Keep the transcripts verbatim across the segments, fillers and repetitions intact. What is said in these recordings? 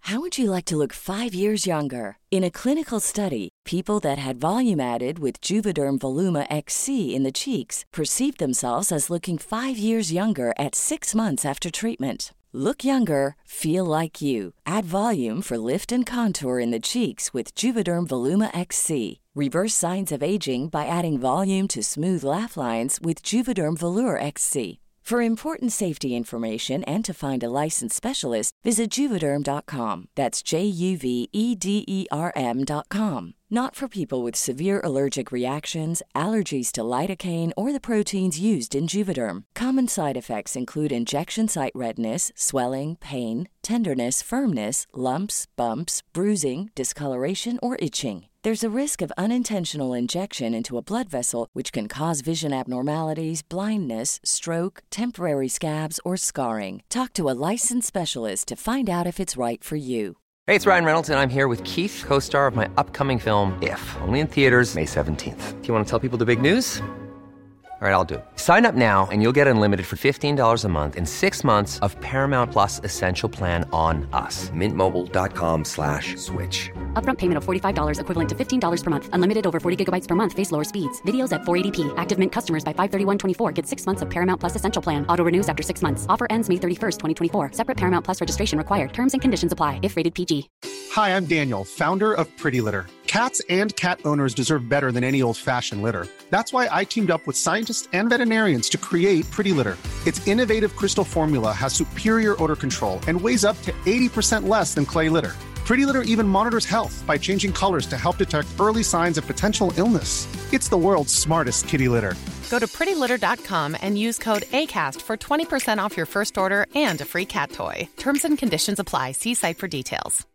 How would you like to look five years younger? In a clinical study, people that had volume added with Juvederm Voluma X C in the cheeks perceived themselves as looking five years younger at six months after treatment. Look younger, feel like you. Add volume for lift and contour in the cheeks with Juvederm Voluma X C. Reverse signs of aging by adding volume to smooth laugh lines with Juvederm Volure X C. For important safety information and to find a licensed specialist, visit Juvederm dot com. That's J U V E D E R M dot com. Not for people with severe allergic reactions, allergies to lidocaine, or the proteins used in Juvederm. Common side effects include injection site redness, swelling, pain, tenderness, firmness, lumps, bumps, bruising, discoloration, or itching. There's a risk of unintentional injection into a blood vessel, which can cause vision abnormalities, blindness, stroke, temporary scabs, or scarring. Talk to a licensed specialist to find out if it's right for you. Hey, it's Ryan Reynolds, and I'm here with Keith, co-star of my upcoming film, If, only in theaters May seventeenth. Do you want to tell people the big news? All right, I'll do it. Sign up now and you'll get unlimited for fifteen dollars a month and six months of Paramount Plus Essential Plan on us. Mint Mobile dot com slash switch. Upfront payment of forty-five dollars equivalent to fifteen dollars per month. Unlimited over forty gigabytes per month. Face lower speeds. Videos at four eighty p. Active Mint customers by five thirty-one twenty-four get six months of Paramount Plus Essential Plan. Auto renews after six months. Offer ends May thirty-first, twenty twenty-four. Separate Paramount Plus registration required. Terms and conditions apply if rated P G. Hi, I'm Daniel, founder of Pretty Litter. Cats and cat owners deserve better than any old-fashioned litter. That's why I teamed up with scientists and veterinarians to create Pretty Litter. Its innovative crystal formula has superior odor control and weighs up to eighty percent less than clay litter. Pretty Litter even monitors health by changing colors to help detect early signs of potential illness. It's the world's smartest kitty litter. Go to pretty litter dot com and use code ACAST for twenty percent off your first order and a free cat toy. Terms and conditions apply. See site for details.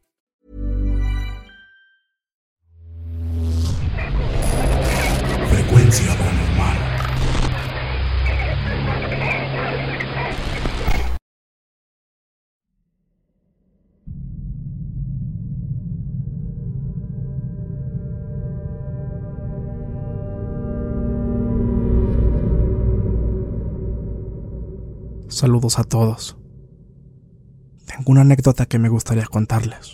Frecuencia paranormal. Saludos a todos. Tengo una anécdota que me gustaría contarles.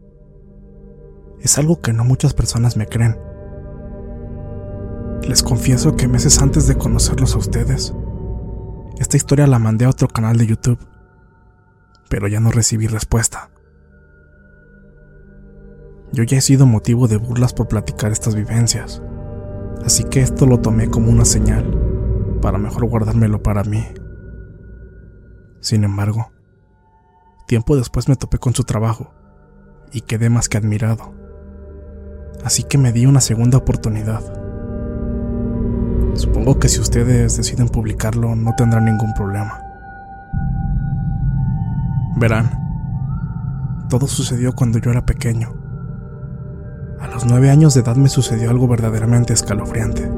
Es algo que no muchas personas me creen. Les confieso que meses antes de conocerlos a ustedes, esta historia la mandé a otro canal de YouTube, pero ya no recibí respuesta. Yo ya he sido motivo de burlas por platicar estas vivencias, así que esto lo tomé como una señal para mejor guardármelo para mí. Sin embargo, tiempo después me topé con su trabajo y quedé más que admirado, así que me di una segunda oportunidad. Supongo que si ustedes deciden publicarlo no tendrán ningún problema. Verán, todo sucedió cuando yo era pequeño. A los nueve años de edad me sucedió algo verdaderamente escalofriante.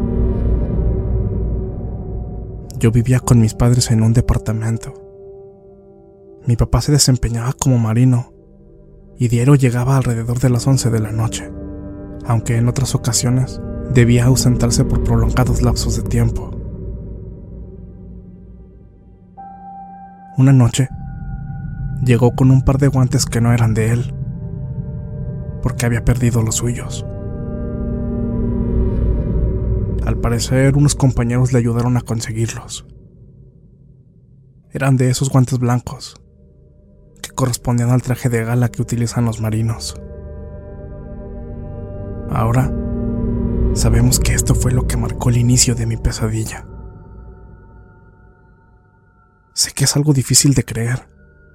Yo vivía con mis padres en un departamento. Mi papá se desempeñaba como marino y diario llegaba alrededor de las once de la noche, aunque en otras ocasiones debía ausentarse por prolongados lapsos de tiempo. Una noche, llegó con un par de guantes que no eran de él, porque había perdido los suyos. Al parecer, unos compañeros le ayudaron a conseguirlos. Eran de esos guantes blancos, que correspondían al traje de gala que utilizan los marinos. Ahora, sabemos que esto fue lo que marcó el inicio de mi pesadilla. Sé que es algo difícil de creer,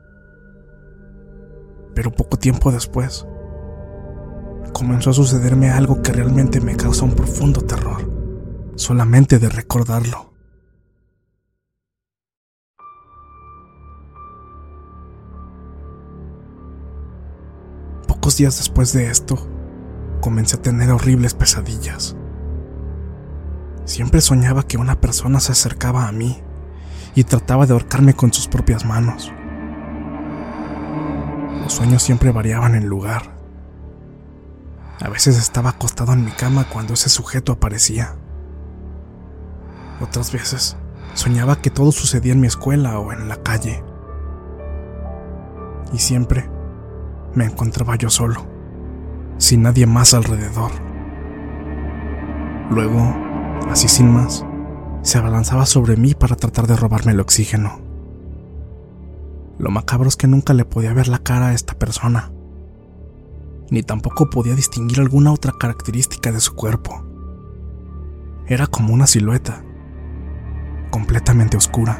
pero poco tiempo después, comenzó a sucederme algo que realmente me causa un profundo terror, solamente de recordarlo. Pocos días después de esto, comencé a tener horribles pesadillas. Siempre soñaba que una persona se acercaba a mí y trataba de ahorcarme con sus propias manos. Los sueños siempre variaban en lugar. A veces estaba acostado en mi cama cuando ese sujeto aparecía. Otras veces soñaba que todo sucedía en mi escuela o en la calle. Y siempre me encontraba yo solo, sin nadie más alrededor. Luego, así sin más, se abalanzaba sobre mí para tratar de robarme el oxígeno. Lo macabro es que nunca le podía ver la cara a esta persona, ni tampoco podía distinguir alguna otra característica de su cuerpo. Era como una silueta, completamente oscura.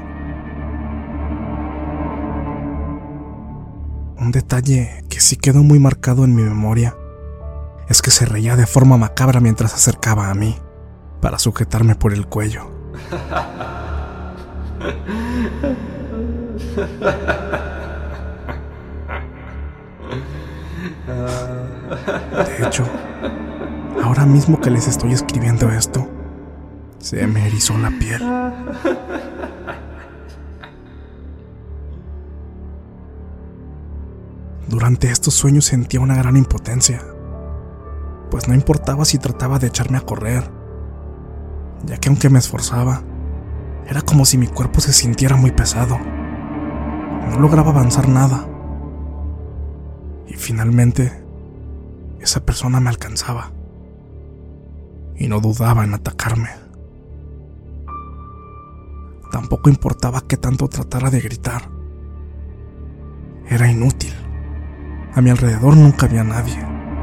Un detalle que sí quedó muy marcado en mi memoria es que se reía de forma macabra mientras se acercaba a mí para sujetarme por el cuello. De hecho, ahora mismo que les estoy escribiendo esto, se me erizó la piel. Durante estos sueños sentía una gran impotencia, pues no importaba si trataba de echarme a correr, ya que aunque me esforzaba, era como si mi cuerpo se sintiera muy pesado. No lograba avanzar nada. Y finalmente, esa persona me alcanzaba y no dudaba en atacarme. Tampoco importaba qué tanto tratara de gritar. Era inútil. A mi alrededor nunca había nadie.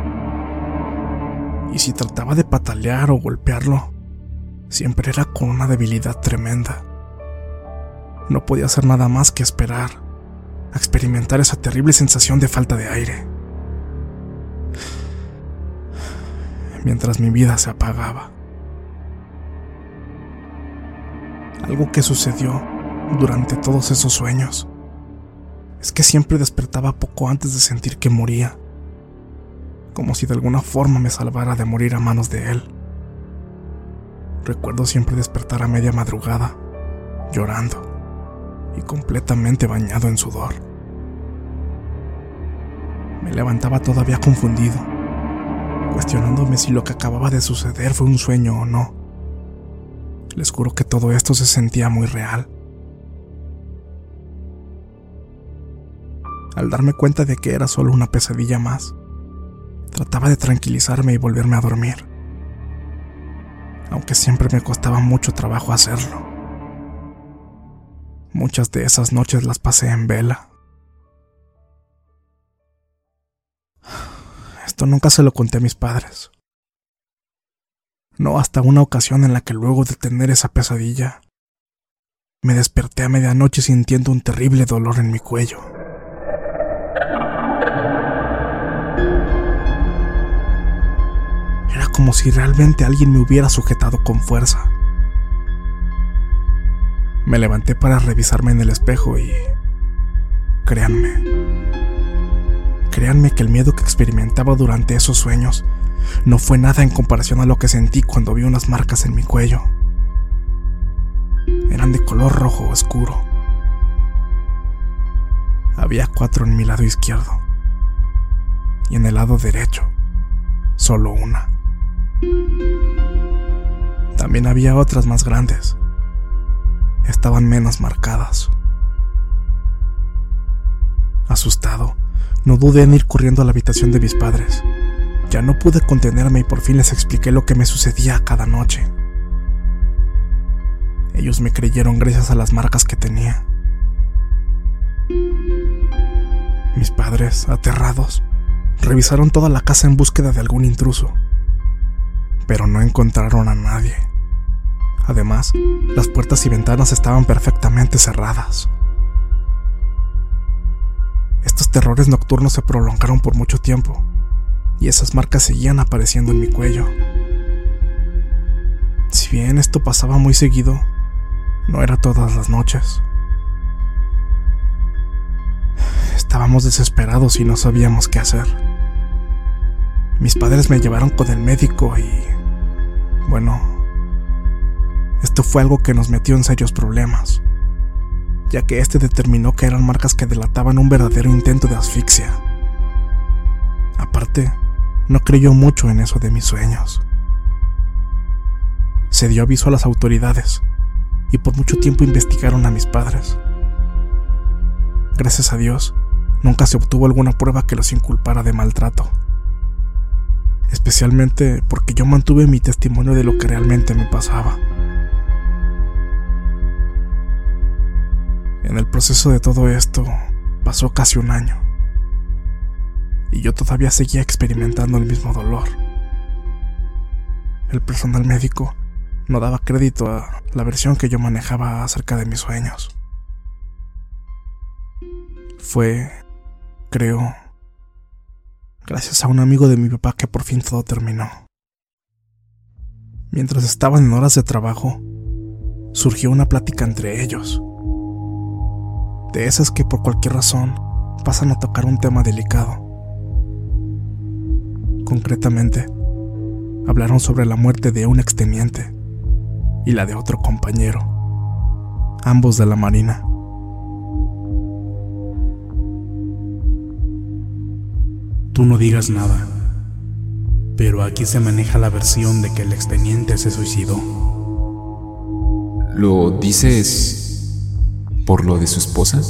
Y si trataba de patalear o golpearlo, siempre era con una debilidad tremenda. No podía hacer nada más que esperar a experimentar esa terrible sensación de falta de aire, mientras mi vida se apagaba. Algo que sucedió durante todos esos sueños es que siempre despertaba poco antes de sentir que moría, como si de alguna forma me salvara de morir a manos de él. Recuerdo siempre despertar a media madrugada, llorando y completamente bañado en sudor. Me levantaba todavía confundido, cuestionándome si lo que acababa de suceder fue un sueño o no. Les juro que todo esto se sentía muy real. Al darme cuenta de que era solo una pesadilla más, trataba de tranquilizarme y volverme a dormir, aunque siempre me costaba mucho trabajo hacerlo. Muchas de esas noches las pasé en vela. Esto nunca se lo conté a mis padres. No hasta una ocasión en la que luego de tener esa pesadilla, me desperté a medianoche sintiendo un terrible dolor en mi cuello. Era como si realmente alguien me hubiera sujetado con fuerza. Me levanté para revisarme en el espejo y... Créanme. Créanme que el miedo que experimentaba durante esos sueños no fue nada en comparación a lo que sentí cuando vi unas marcas en mi cuello. Eran de color rojo oscuro. Había cuatro en mi lado izquierdo y en el lado derecho solo una. También había otras más grandes. Estaban menos marcadas. Asustado, no dudé en ir corriendo a la habitación de mis padres. Ya no pude contenerme y por fin les expliqué lo que me sucedía cada noche. Ellos me creyeron gracias a las marcas que tenía. Mis padres, aterrados, revisaron toda la casa en búsqueda de algún intruso, pero no encontraron a nadie. Además, las puertas y ventanas estaban perfectamente cerradas. Estos terrores nocturnos se prolongaron por mucho tiempo, y esas marcas seguían apareciendo en mi cuello. Si bien esto pasaba muy seguido, no era todas las noches. Estábamos desesperados y no sabíamos qué hacer. Mis padres me llevaron con el médico y... bueno, esto fue algo que nos metió en serios problemas, ya que este determinó que eran marcas que delataban un verdadero intento de asfixia. Aparte, no creyó mucho en eso de mis sueños. Se dio aviso a las autoridades y por mucho tiempo investigaron a mis padres. Gracias a Dios, nunca se obtuvo alguna prueba que los inculpara de maltrato, especialmente porque yo mantuve mi testimonio de lo que realmente me pasaba. En el proceso de todo esto pasó casi un año y yo todavía seguía experimentando el mismo dolor. El personal médico no daba crédito a la versión que yo manejaba acerca de mis sueños. Fue, creo, gracias a un amigo de mi papá que por fin todo terminó. Mientras estaban en horas de trabajo, surgió una plática entre ellos, de esas que por cualquier razón pasan a tocar un tema delicado. Concretamente, hablaron sobre la muerte de un exteniente y la de otro compañero, ambos de la Marina. Tú no digas nada, pero aquí se maneja la versión de que el exteniente se suicidó. ¿Lo dices por lo de su esposa?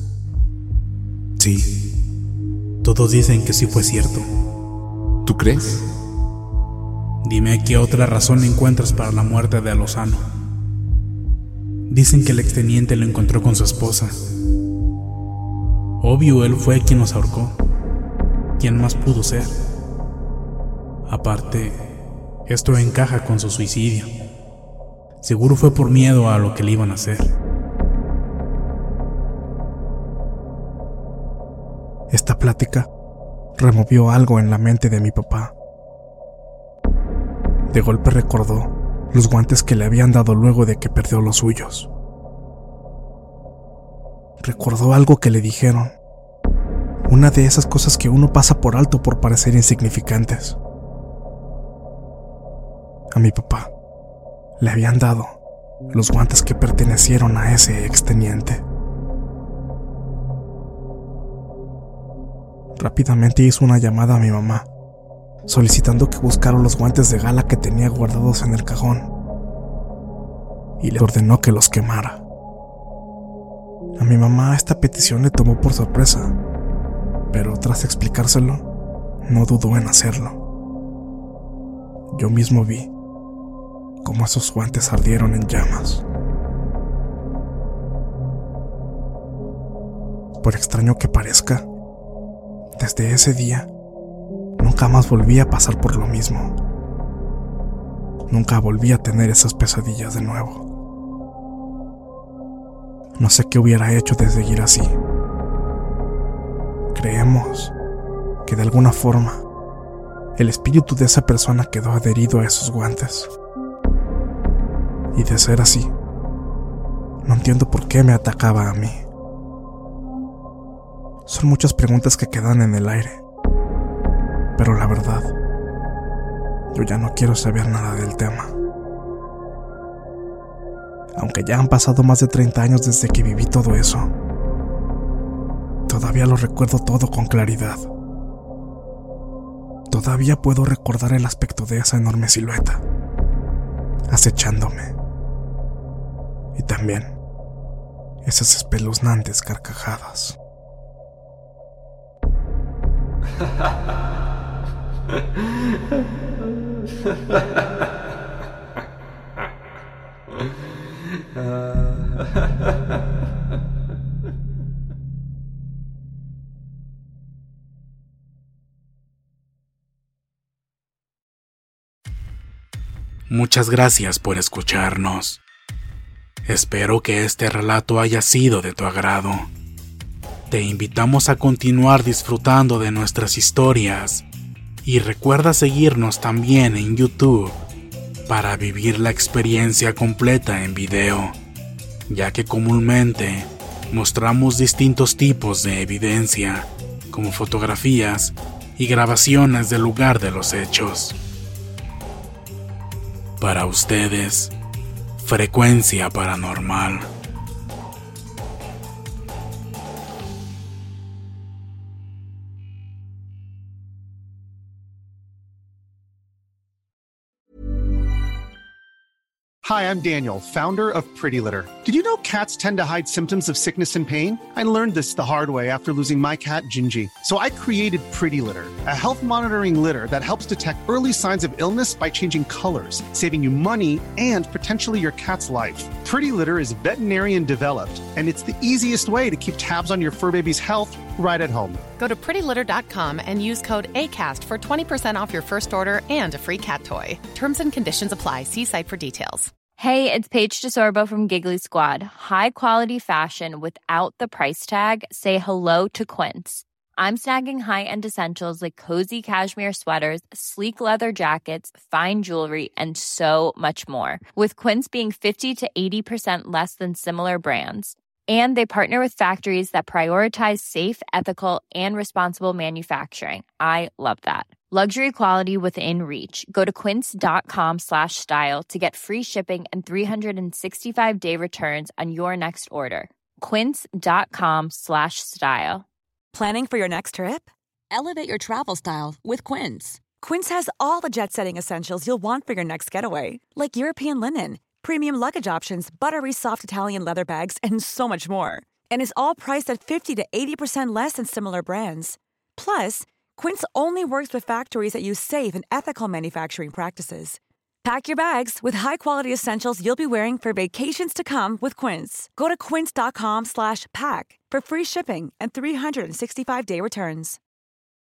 Sí, todos dicen que sí fue cierto. ¿Tú crees? Dime qué otra razón encuentras para la muerte de Lozano. Dicen que el exteniente lo encontró con su esposa. Obvio, él fue quien nos ahorcó. ¿Quién más pudo ser? Aparte, esto encaja con su suicidio. Seguro fue por miedo a lo que le iban a hacer. Esta plática removió algo en la mente de mi papá. De golpe recordó los guantes que le habían dado luego de que perdió los suyos. Recordó algo que le dijeron, una de esas cosas que uno pasa por alto por parecer insignificantes. A mi papá le habían dado los guantes que pertenecieron a ese exteniente. Rápidamente hizo una llamada a mi mamá, solicitando que buscara los guantes de gala que tenía guardados en el cajón, y le ordenó que los quemara. A mi mamá esta petición le tomó por sorpresa, pero tras explicárselo, no dudó en hacerlo. Yo mismo vi cómo esos guantes ardieron en llamas. Por extraño que parezca, desde ese día, nunca más volví a pasar por lo mismo. Nunca volví a tener esas pesadillas de nuevo. No sé qué hubiera hecho de seguir así. Creemos que de alguna forma el espíritu de esa persona quedó adherido a esos guantes. Y de ser así, no entiendo por qué me atacaba a mí. Son muchas preguntas que quedan en el aire. Pero la verdad, yo ya no quiero saber nada del tema. Aunque ya han pasado más de treinta años desde que viví todo eso, todavía lo recuerdo todo con claridad. Todavía puedo recordar el aspecto de esa enorme silueta, acechándome. Y también esas espeluznantes carcajadas. Muchas gracias por escucharnos. Espero que este relato haya sido de tu agrado. Te invitamos a continuar disfrutando de nuestras historias y recuerda seguirnos también en YouTube para vivir la experiencia completa en video, ya que comúnmente mostramos distintos tipos de evidencia, como fotografías y grabaciones del lugar de los hechos. Para ustedes, Frecuencia Paranormal. Hi, I'm Daniel, founder of Pretty Litter. Did you know cats tend to hide symptoms of sickness and pain? I learned this the hard way after losing my cat, Gingy. So I created Pretty Litter, a health monitoring litter that helps detect early signs of illness by changing colors, saving you money and potentially your cat's life. Pretty Litter is veterinarian developed, and it's the easiest way to keep tabs on your fur baby's health right at home. Go to pretty litter dot com and use code ACAST for twenty percent off your first order and a free cat toy. Terms and conditions apply. See site for details. Hey, it's Paige DeSorbo from Giggly Squad. High quality fashion without the price tag. Say hello to Quince. I'm snagging high-end essentials like cozy cashmere sweaters, sleek leather jackets, fine jewelry, and so much more. With Quince being fifty to eighty percent less than similar brands. And they partner with factories that prioritize safe, ethical, and responsible manufacturing. I love that. Luxury quality within reach. Go to quince.com slash style to get free shipping and three sixty-five day returns on your next order. Quince.com slash style. Planning for your next trip? Elevate your travel style with Quince. Quince has all the jet-setting essentials you'll want for your next getaway, like European linen, premium luggage options, buttery soft Italian leather bags, and so much more. And is all priced at fifty to eighty percent less than similar brands. Plus, Quince only works with factories that use safe and ethical manufacturing practices. Pack your bags with high-quality essentials you'll be wearing for vacations to come with Quince. Go to quince.com slash pack for free shipping and three sixty-five day returns.